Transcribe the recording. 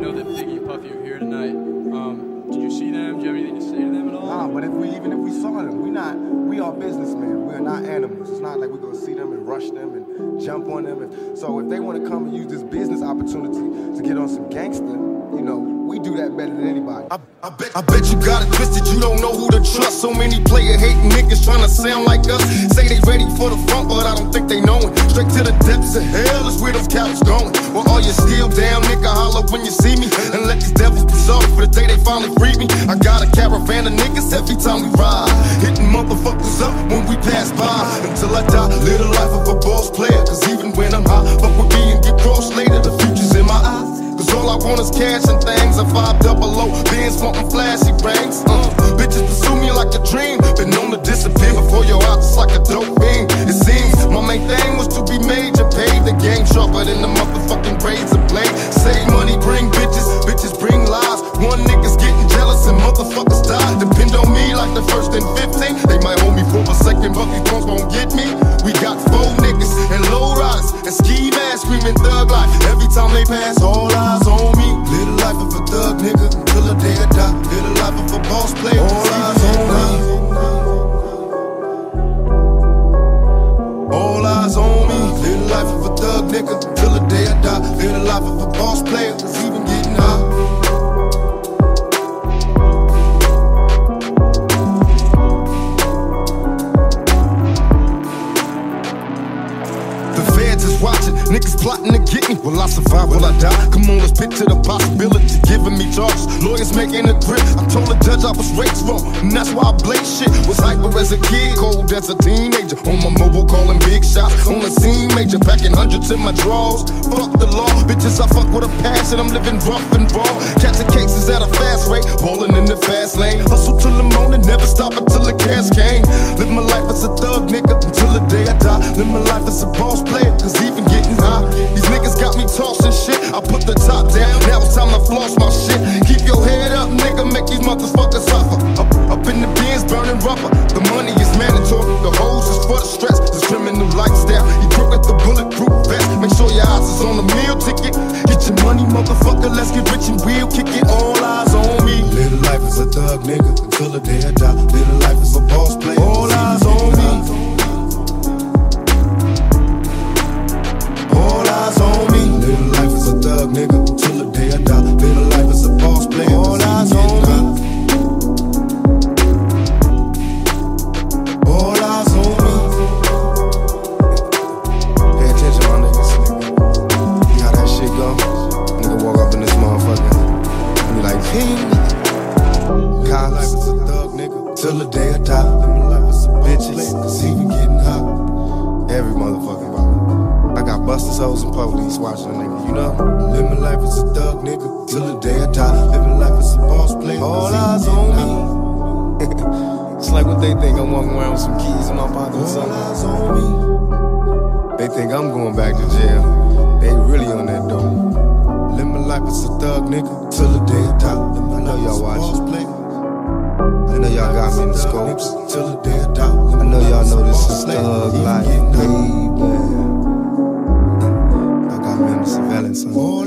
know that Biggie and Puffy are here tonight. Did you see them? Do you have anything to say to them at all? Nah, but even if we saw them, we are businessmen. We are not animals. It's not like we're gonna see them and rush them and jump on them. So if they want to come and use this business opportunity to get on some gangster, you know, we do that better than anybody. I bet you got it twisted, you don't know who to trust. So many player-hating niggas trying to sound like us. Say they ready for the front, but I don't think they know it. Straight to the depths of hell is where those cowards going. Well, all you still down, nigga, holler when you see me. And let these devils be sorry for the day they finally free me. I got a caravan of niggas every time we ride, hitting motherfuckers up when we pass by. Until I die, live the life of a boss player. Cause even when I'm high, fuck with me and get crossed later. The future's in my eyes. Cause all I want is cash and things. A 500, Benz wantin' flashy rings. Bitches pursue me like a dream. Been known to disappear before your eyes, it's like a dope fiend. It seems my main thing was to be major. Paid the game sharper than the motherfucking razor blade. Save money, bring bitches, bitches bring lies. One nigga's getting jealous and motherfuckers die. Depend on me like the first and 15. They might hold me for a second, but these drums won't get me. We got 4 niggas and low riders and ski masks screaming thug life. Every time they pass, all eyes on me. Live the life of a thug nigga till the day I die. Live the life of a boss player. All eyes on me. All eyes on me. Live the life of a thug nigga till the day I die. Live the life of a boss player. It's even getting high. Watching, niggas plotting to get me. Will I survive? Will I die? Come on, let's picture the possibility. Giving me charges, lawyers making a grip. I told the judge I was raised wrong, and that's why I blaze shit. Was hyper as a kid, cold as a teenager. On my mobile, calling big shots. On the scene, major, packing hundreds in my drawers. Fuck the law, bitches, I fuck with a passion. I'm living rough and raw. Catching cases at a fast rate, balling in the fast lane. Hustle till the morning, never stop until the cash came. Live my life as a thug, nigga, until the day I die. Live my life as a boss player, cause even getting high. These niggas got me tossing shit. I put the top down, now it's time to floss my shit. Keep your head up, nigga, make these motherfuckers suffer. Up in the bins, burning rubber. The money is mandatory, the hoes is for the stress. This criminal lifestyle, you crook at the bulletproof vest. Make sure your eyes is on the meal ticket. Get your money, motherfucker, let's get rich and we'll kick it. All eyes on me. Live the life as a thug, nigga, until the day I die. Live the life as a boss player. All eyes on me. All eyes on me. Live a life as a thug, nigga, till the day I die. Live a life as a boss player. All eyes on me. All eyes on me. Pay attention, my niggas, nigga. See how that shit go? Nigga walk up in this motherfucker and be like, ping. Live a life as a thug, nigga, till the day I die. Live a life as a bitches, cause he be getting hot. Every motherfucking body. I got busters, hoes, and police watching a nigga, you know? Live my life as a thug, nigga, till the day I die. Living life as a boss player. All eyes on me. It's like what they think, I'm walking around with some keys in my pocket or something. All eyes on me. They think I'm going back to jail. They really on that dope. Live my life as a thug, nigga, till the day I die. I know y'all watching. I know y'all got me in the scopes. Till the day I die. I know y'all know this is thug life, baby. Surveillance.